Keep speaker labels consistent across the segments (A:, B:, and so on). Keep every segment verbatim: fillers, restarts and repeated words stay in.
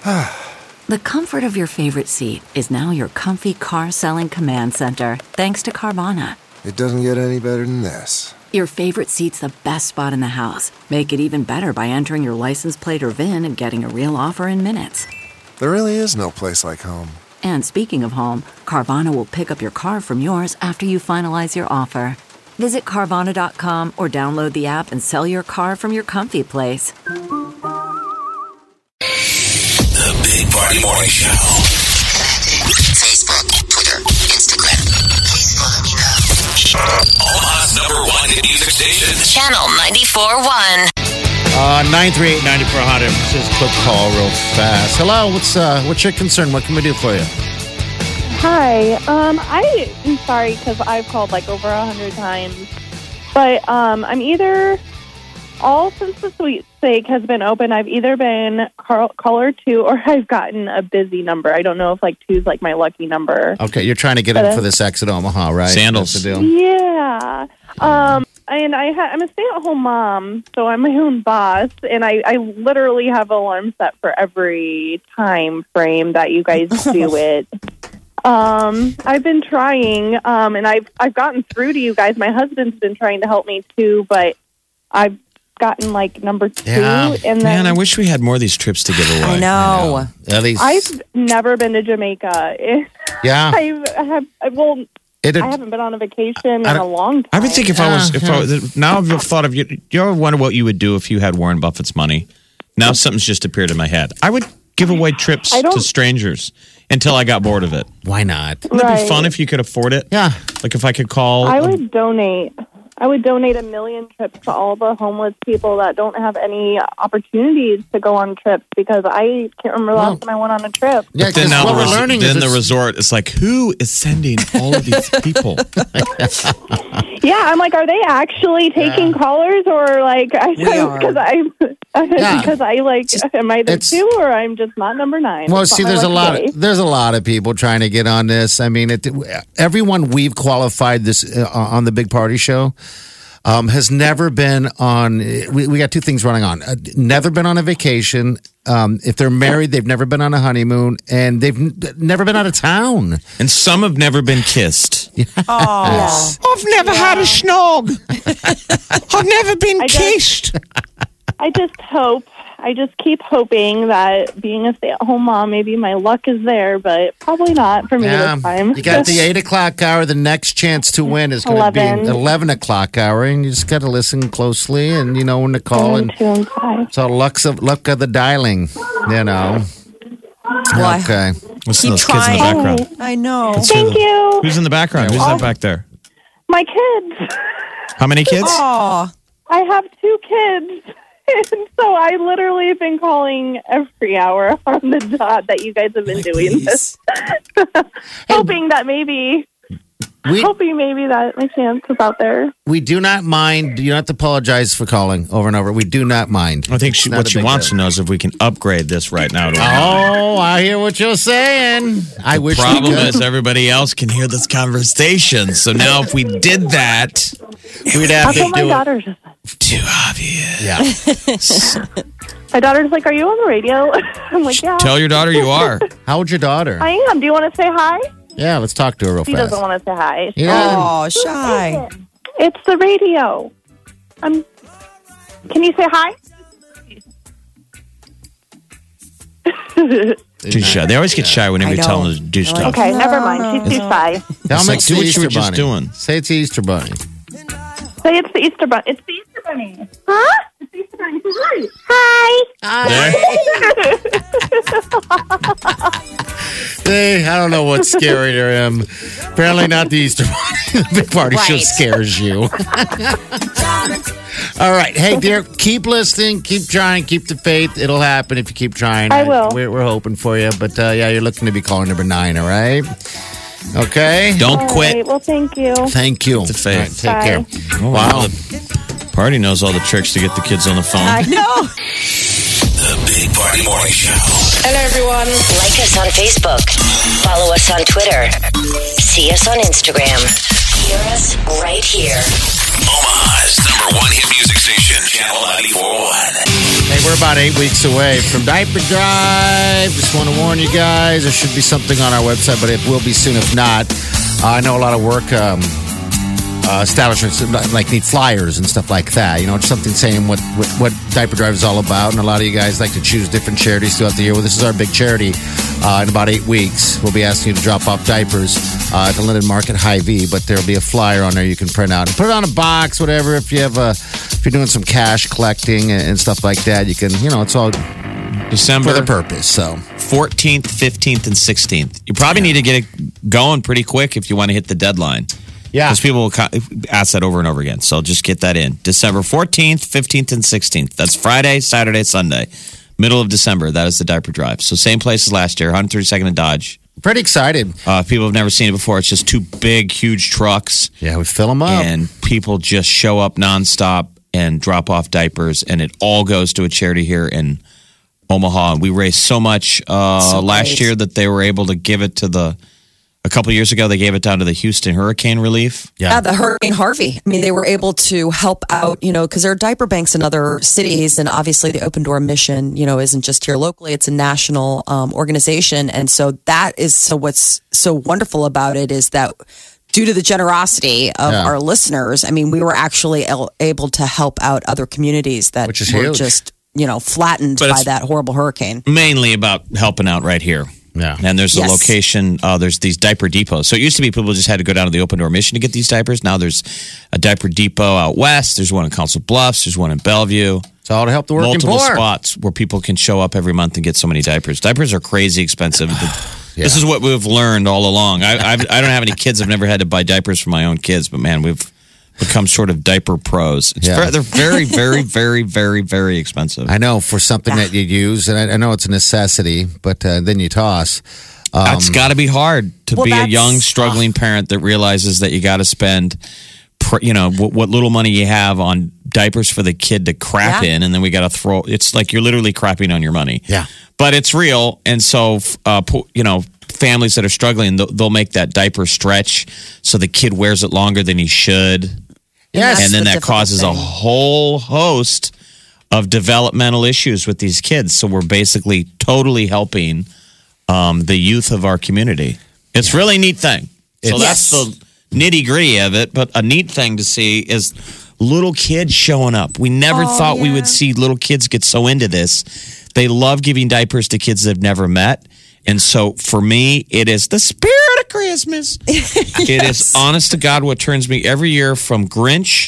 A: The comfort of your favorite seat is now your comfy car selling command center, thanks to Carvana.
B: It doesn't get any better than this.
A: Your favorite seat's the best spot in the house. Make it even better by entering your license plate or V I N and getting a real offer in minutes.
B: There really is no place like home.
A: And speaking of home, Carvana will pick up your car from yours after you finalize your offer. Visit Carvana dot com or download the app and sell your car from your comfy place.
C: The Big Party Morning Show.
D: Facebook, Twitter, Instagram. Please follow me now.
C: Omaha's number one hit music station.
D: Channel ninety-four point one.
E: Uh, nine three eight, nine four hundred. Just a quick call real fast. Hello, what's uh, what's your concern? What can we do for you?
F: Hi. Um, I am sorry because I've called like over a hundred times, but um, I'm either all since the sweepstake has been open, I've either been call- caller two or I've gotten a busy number. I don't know if like two is like my lucky number.
E: Okay, you're trying to get in for this exit Omaha, right?
G: Sandals.
E: That's the deal.
F: Yeah. Um, and I ha- I'm a stay-at-home mom, so I'm my own boss, and I, I literally have alarms set for every time frame that you guys do it. Um, I've been trying, um, and I've I've gotten through to you guys. My husband's been trying to help me too, but I've gotten like number two,
E: Yeah.
F: and then
G: Man, I wish we had more of these trips to give away.
H: I know.
E: At least,
F: I've never been to Jamaica.
E: yeah.
F: I've, I have well,
E: It,
F: I haven't been on a vacation in
G: I
F: a
G: don't-
F: long time.
G: I would think if I was, if
E: Yeah.
G: I was, now I've thought of you. You ever wonder what you would do if you had Warren Buffett's money? Now something's just appeared in my head. I would give away trips
F: I don't-
G: to strangers until I got bored of it.
E: why not?
G: Wouldn't it be
F: Right.
G: fun if you could afford it?
E: Yeah.
G: Like if I could call.
F: I would donate. I would donate a million trips to all the homeless people that don't have any opportunities to go on trips because I can't remember the last time I went on a trip.
E: Yeah,
G: Then
E: because
G: now
E: what
G: the,
E: we're
G: res-
E: learning
G: then
E: is
G: the
E: it's-
G: resort is like, who is sending all of these people?
F: Yeah, I'm like, are they actually taking
E: Yeah.
F: callers or like I
H: We are.
F: because I
E: Yeah.
F: because I like am I the
E: It's-
F: two or I'm just not number nine?
E: Well,
F: That's
E: see,
F: not my
E: there's a
F: lucky
E: lot.
F: day.
E: Of, there's a lot of people trying to get on this. I mean, it, everyone we've qualified this uh, on the Big Party Show um, has never been on. We, we got two things running on. Uh, never been on a vacation. Um, if they're married, they've never been on a honeymoon, and they've n- never been out of town.
G: And some have never been kissed.
H: Oh.
G: I've never had a snog. I've never been
F: I just-
G: kissed.
F: I just hope, I just keep hoping that being a stay-at-home mom, maybe my luck is there, but probably not for me
E: Yeah,
F: this time.
E: you got the eight o'clock hour. The next chance to win is going to be
F: eleven.
E: eleven o'clock hour, and you just got to listen closely, and you know when to call.
F: One,
E: And
F: two, and five.
E: so luck's of luck of the dialing, you know.
H: Well, I
E: Okay.
G: Listen to
H: keep
G: those kids in the
H: trying.
G: background.
H: I know.
F: Thank you.
G: Who's in the background? Who's that back there?
F: My kids.
G: How many kids?
H: Oh,
F: I have two kids. And so I literally have been calling every hour on the dot that you guys have been doing this. hoping that maybe,
E: We
F: hoping maybe that my chance is out there.
E: we do not mind. You don't have to apologize for calling over and over. We do not mind.
G: I think she,
E: It's not
G: what
E: a
G: she
E: big
G: wants
E: deal.
G: to know is if we can upgrade this right now. To
E: Oh, I hear what you're saying. I wish we
G: problem
E: could.
G: is everybody else can hear this conversation. So now if we did that,
E: We'd have
F: That's
E: to
F: what my
E: do it.
F: daughter just said.
G: too obvious.
E: Yeah.
F: My daughter's like, "Are you on the radio?" I'm like, "Yeah,
G: Tell your daughter you are.
E: How old's your daughter?
F: I am. Do you want to say hi?"
E: Yeah, let's talk to her real
F: She
E: fast.
F: doesn't want to say hi.
E: Yeah.
H: oh, shy.
F: It's the radio. Um, can you say hi?
G: Too shy. They always get shy whenever
H: I
G: you tell
H: know.
G: them to do stuff.
F: Okay, never mind. She's too shy.
E: Tell
G: It's
E: me
G: like,
E: it's
G: do
E: the
G: what you
E: Easter
G: were just
E: Bunny.
G: doing.
E: Say it's the Easter Bunny.
F: Say it's the Easter Bunny. It's the Easter Bunny. Huh? It's the Easter Bunny. Hi.
G: There.
E: Hey, I don't know what's scary to him. Apparently not the Easter Bunny. The Big Party Show
H: Right.
E: scares you. All right. Hey, dear, keep listening. Keep trying. Keep the faith. It'll happen if you keep trying.
F: I will.
E: We're, we're hoping for you. But, uh, yeah, you're looking to be calling number nine, all right? Okay?
G: Don't
F: All
G: quit.
F: right, well, thank you.
E: Thank you.
G: The faith.
E: All right, take
F: Bye.
E: care.
G: Oh,
E: Wow.
G: The party knows all the tricks to get the kids on the phone.
H: I know.
C: The Big Party Morning Show.
D: Hello, everyone. Like us on Facebook. Follow us on Twitter. See us on Instagram. Hear us right here.
C: Omaha's number one hit music station, Channel ninety-four point one.
E: Hey, we're about eight weeks away from Diaper Drive. Just want to warn you guys, there should be something on our website, but it will be soon if not. Uh, I know a lot of work um, uh, establishments like need flyers and stuff like that. You know, just something saying what, what, what Diaper Drive is all about. And a lot of you guys like to choose different charities throughout the year. Well, this is our big charity. Uh, in about eight weeks, we'll be asking you to drop off diapers uh, at the Linden Market Hy-Vee, but there'll be a flyer on there you can print out and put it on a box, whatever. If you have a, if you're doing some cash collecting and, and stuff like that, you can, you know, it's all
G: December
E: for the purpose. So
G: fourteenth, fifteenth, and sixteenth. You probably need to get it going pretty quick if you want to hit the deadline.
E: yeah,
G: Because people will co- ask that over and over again. So just get that in. December fourteenth, fifteenth, and sixteenth. That's Friday, Saturday, Sunday. Middle of December. That is the Diaper Drive. So same place as last year, one thirty-second and Dodge.
E: pretty excited.
G: Uh, if people have never seen it before, it's just two big, huge trucks.
E: Yeah, we fill them up.
G: And people just show up nonstop and drop off diapers. And it all goes to a charity here in Omaha. And we raised so much uh,
H: So
G: last
H: great.
G: year that they were able to give it to the, a couple years ago, they gave it down to the Houston Hurricane Relief.
H: Yeah, the Hurricane Harvey. I mean, they were able to help out, you know, because there are diaper banks in other cities. And obviously, the Open Door mission, you know, isn't just here locally, it's a national um, organization. And so that is so what's so wonderful about it is that due to the generosity of
E: Yeah.
H: our listeners, I mean, we were actually el- able to help out other communities that
E: Which is
H: were
E: huge.
H: just, you know, flattened
G: But
H: by
G: it's-
H: that horrible hurricane.
G: Mainly about helping out right here.
E: Yeah.
G: And there's a
H: Yes.
G: location, uh, there's these diaper depots. So it used to be people just had to go down to the Open Door Mission to get these diapers. Now there's a diaper depot out west. There's one in Council Bluffs. There's one in Bellevue.
E: It's all to help the working
G: Multiple
E: poor.
G: spots where people can show up every month and get so many diapers. Diapers are crazy expensive. This is what we've learned all along. I, I've, I don't have any kids. I've never had to buy diapers for my own kids, but man, we've become sort of diaper pros. It's
E: Yeah.
G: very, they're very, very, very, very, very expensive.
E: I know for something that you use, and I, I know it's a necessity, but uh, then you toss. Um,
G: That's got to be hard to
H: Well,
G: be a
H: that's-
G: young, struggling parent that realizes that you got to spend, pr- you know, what, what little money you have on diapers for the kid to crap
H: Yeah.
G: in, and then we got to throw. It's like you're literally crapping on your money.
E: Yeah.
G: but it's real, and so uh, po- you know, families that are struggling, they'll, they'll make that diaper stretch so the kid wears it longer than he should,
E: Yes.
G: and then
H: the
G: that
H: difficult
G: causes a
H: thing.
G: whole host of developmental issues with these kids. So we're basically totally helping um, the youth of our community. It's really a neat thing. So
H: It's-
G: that's the nitty gritty of it. But a neat thing to see is little kids showing up. We never
H: Oh,
G: thought we
H: yeah.
G: would see little kids get so into this. They love giving diapers to kids they've never met. And so for me, it is the spirit of Christmas. It is honest to God what turns me every year from Grinch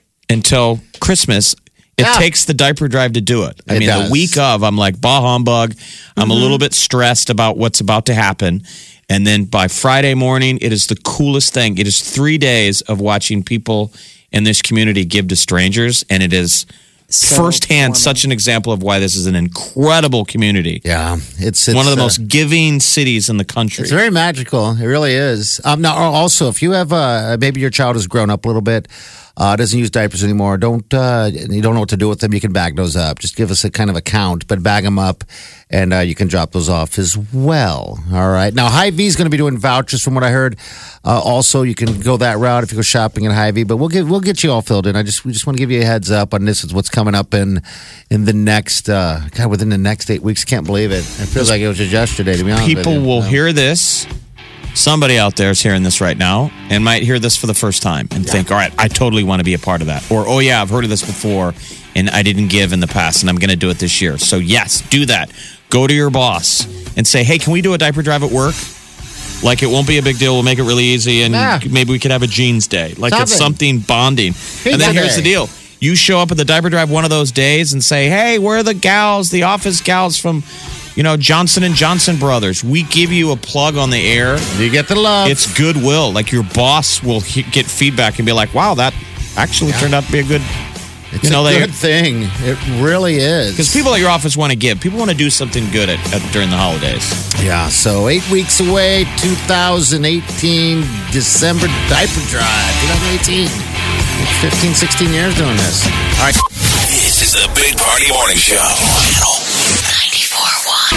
G: until Christmas. It
E: Yeah.
G: takes the diaper drive to do it. I
E: It
G: mean,
E: does.
G: the week of, I'm like, bah humbug. I'm a little bit stressed about what's about to happen. And then by Friday morning, it is the coolest thing. It is three days of watching people in this community give to strangers. And it is
H: So
G: firsthand
H: warming.
G: such an example of why this is an incredible community.
E: Yeah, it's, it's
G: One of the
E: uh,
G: most giving cities in the country.
E: It's very magical. It really is. Um, now, also, if you have uh, maybe your child has grown up a little bit, uh, doesn't use diapers anymore, don't uh, you don't know what to do with them, you can bag those up. Just give us a kind of a count, but bag them up, and uh, you can drop those off as well. All right. Now, Hy-Vee is going to be doing vouchers, from what I heard. Uh, also, you can go that route if you go shopping at Hy-Vee, but we'll get we'll get you all filled in. I just we just want to give you a heads up on this. Is what's coming up in in the next uh, God within the next eight weeks. Can't believe it. It feels like it was just yesterday. To be honest, with
G: People
E: you.
G: will
E: So-
G: hear this. Somebody out there is hearing this right now and might hear this for the first time and think, all right, I totally want to be a part of that. Or, oh, yeah, I've heard of this before and I didn't give in the past and I'm going to do it this year. So, yes, do that. Go to your boss and say, hey, can we do a diaper drive at work? Like, it won't be a big deal. We'll make it really easy and
E: Yeah.
G: maybe we could have a jeans day. Like, it's
E: Something.
G: something bonding. and then
E: Pizza
G: here's the
E: day.
G: deal. You show up at the diaper drive one of those days and say, hey, where are the gals, the office gals from, you know, Johnson and Johnson Brothers? We give you a plug on the air.
E: You get the love.
G: It's goodwill. Like your boss will he- get feedback and be like, wow, that actually turned out to be a good,
E: It's
G: you know,
E: a
G: they,
E: good thing. It really is.
G: because people at your office want to give. People want to do something good at, at during the holidays.
E: Yeah, so eight weeks away, two thousand eighteen, December diaper drive, twenty eighteen. It's fifteen, sixteen years doing this. All right.
C: This is the Big Party Morning Show. Channel
D: ninety-four point one.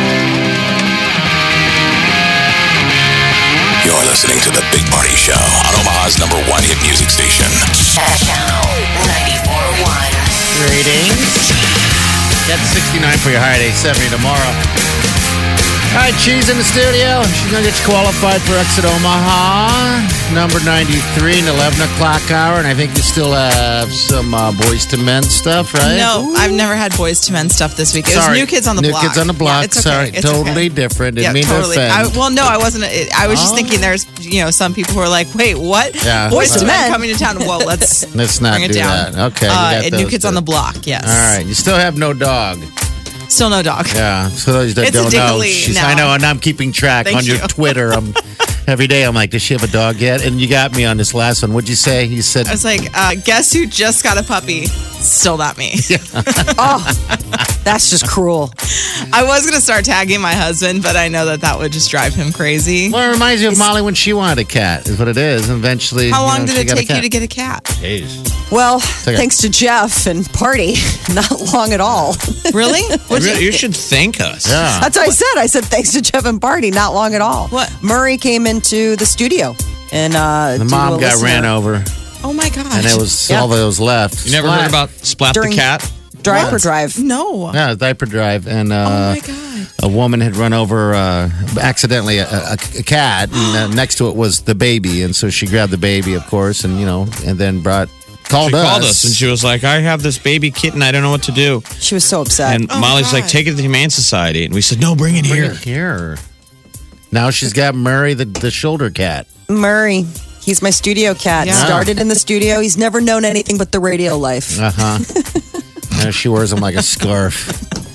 C: You're listening to the Big Party Show on Omaha's number one hit music station.
D: Channel ninety-four point one.
E: Greetings. That's sixty-nine for your high day, seventy tomorrow. All right, Cheese in the studio. She's going to get you qualified for Exit Omaha, number ninety-three, and eleven o'clock hour. And I think you still have some uh, Boys to Men stuff, right?
I: No, I've never had Boys to Men stuff this week. It
E: Sorry.
I: was New Kids on the
E: New
I: Block.
E: Kids on the Block.
I: Yeah, it's okay.
E: Sorry,
I: It's
E: totally
I: okay.
E: different. Didn't
I: Yeah,
E: mean
I: totally.
E: to offend.
I: I, well, no, I wasn't. I was just
E: Oh.
I: thinking there's, you know, some people who are like, wait, what?
E: Yeah.
I: Boys
E: Well,
I: to Men
H: Men.
I: coming to town. Well, let's,
E: Let's not
I: bring it
E: do
I: down.
E: that. Okay, you
I: Uh,
E: got
I: and New
E: those
I: Kids
E: two.
I: on the Block, yes.
E: All right, you still have no dog.
I: Still no dog.
E: Yeah, so those that
I: It's a
E: don't know,
I: diggly
E: she's,
I: now.
E: I know, and I'm keeping track
I: Thank
E: on your
I: you.
E: Twitter. I'm every day. I'm like, does she have a dog yet? And you got me on this last one. What'd you say? You said,
I: I was like, uh, guess who just got a puppy? Still not me.
H: Oh, that's just cruel.
I: I was going to start tagging my husband, but I know that that would just drive him crazy.
E: well, it reminds me of Molly when she wanted a cat. Is what it is. And eventually,
I: How
E: you
I: long
E: know,
I: did
E: she
I: it
E: got a
I: take you
E: cat.
I: to get a cat?
E: Jeez.
H: Well,
E: okay.
H: thanks to Jeff and Party, not long at all.
I: Really? What'd
G: You,
I: you-
G: you should thank us.
E: Yeah.
H: That's what I said. I said thanks to Jeff and Party, not long at all.
I: What?
H: Murray came into the studio and uh,
E: The
H: due to
E: mom
H: a
E: got
H: listener-
E: ran over,
I: Oh my gosh.
E: and it was
H: Yeah.
E: all that was left.
G: You never
E: Splat.
G: heard about Splat
H: During-
G: the cat?
H: Drive or
I: What?
H: drive.
I: No.
E: Yeah, diaper drive, and uh,
I: Oh my God.
E: a woman had run over uh, accidentally a, a, a cat, and uh, next to it was the baby, and so she grabbed the baby, of course, and you know, and then brought called
G: She
E: us.
G: called us and she was like, I have this baby kitten. I don't know what to do.
H: She was so upset.
G: And
I: Oh,
G: Molly's like,
I: God.
G: take it to the Humane Society. And we said, no, bring it
E: Bring
G: here.
E: it here. Now she's got Murray, the, the shoulder cat.
H: Murray, he's my studio cat.
I: Yeah.
H: Started in the studio. He's never known anything but the radio life.
E: Uh huh. Now she wears him like a scarf.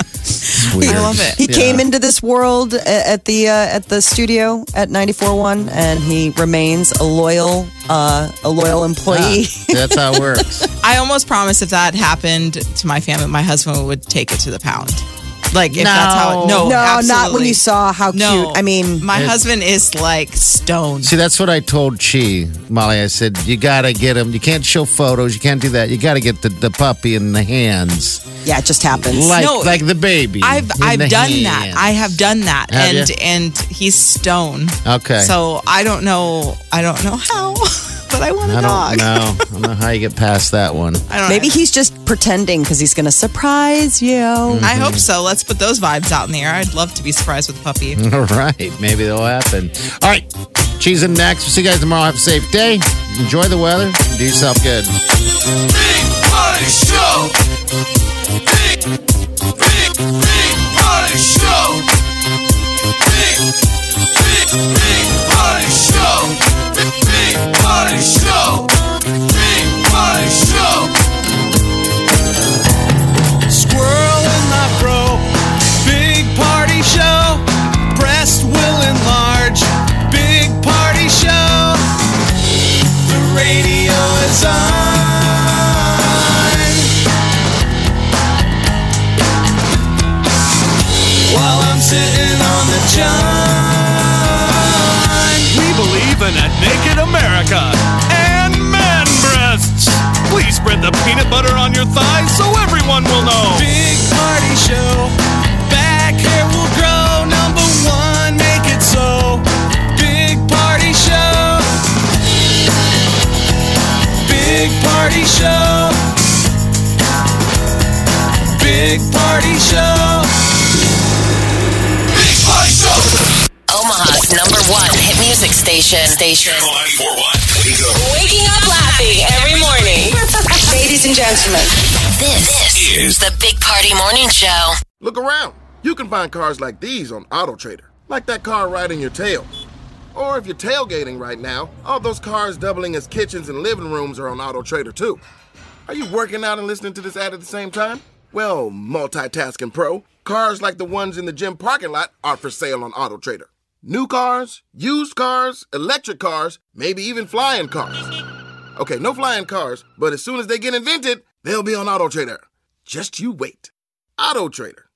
E: It's weird.
I: I love it.
H: He
E: Yeah.
H: came into this world a- at the uh, at the studio at ninety-four point one, and he remains a loyal uh, a loyal employee.
E: Yeah, that's how it works.
I: I almost promised if that happened to my family, my husband would take it to the pound. Like, if that's how.
E: No.
I: No,
H: no, not when
I: absolutely.
H: you saw how
I: No.
H: cute. I mean,
I: my
E: It-
I: husband is like stoned.
E: See, that's what I told Chi, Molly. I said, you got to get him. You can't show photos. You can't do that. You got to get the, the puppy in the hands.
H: yeah, it just happens.
E: Like,
I: No,
E: like the baby.
I: I've
E: in
I: I've
E: the
I: done
E: hands.
I: that. I have done that,
E: Have
I: and
E: you?
I: and he's stone.
E: Okay.
I: So I don't know. I don't know how, but I want a
E: I
I: dog.
E: don't know. I don't know how you get past that one.
I: I don't.
H: Maybe
I: know.
H: he's just pretending because he's going to surprise you.
I: I hope so. Let's put those vibes out in the air. I'd love to be surprised with a puppy.
E: All right. Maybe that'll happen. All right. Cheese in next. We'll see you guys tomorrow. Have a safe day. Enjoy the weather. Do yourself good.
C: Big Party Show. Big, big, big Party Show. Big, big, big Party Show. Big, big Party Show. Big Party Show.
J: Squirrel in my fro. Big party show. Breast will enlarge. Big party show. The radio is on. While I'm sitting on the john. We believe in a naked America and man breasts. Please spread the peanut butter on your thighs so everyone will know. Big party show. Back hair will grow. Number one, make it so. Big party show. Big party show. Big party show.
C: Big Party Show.
D: Omaha's number one hit music station. Station.
C: ninety-four point one. Wake up.
D: Waking up laughing every morning. Ladies and gentlemen, this, this is the Big Party Morning Show.
K: Look around. You can find cars like these on AutoTrader, like that car riding your tail. Or if you're tailgating right now, all those cars doubling as kitchens and living rooms are on AutoTrader too. Are you working out and listening to this ad at the same time? Well, multitasking pro, cars like the ones in the gym parking lot are for sale on AutoTrader. New cars, used cars, electric cars, maybe even flying cars. Okay, no flying cars, but as soon as they get invented, they'll be on AutoTrader. Just you wait. AutoTrader.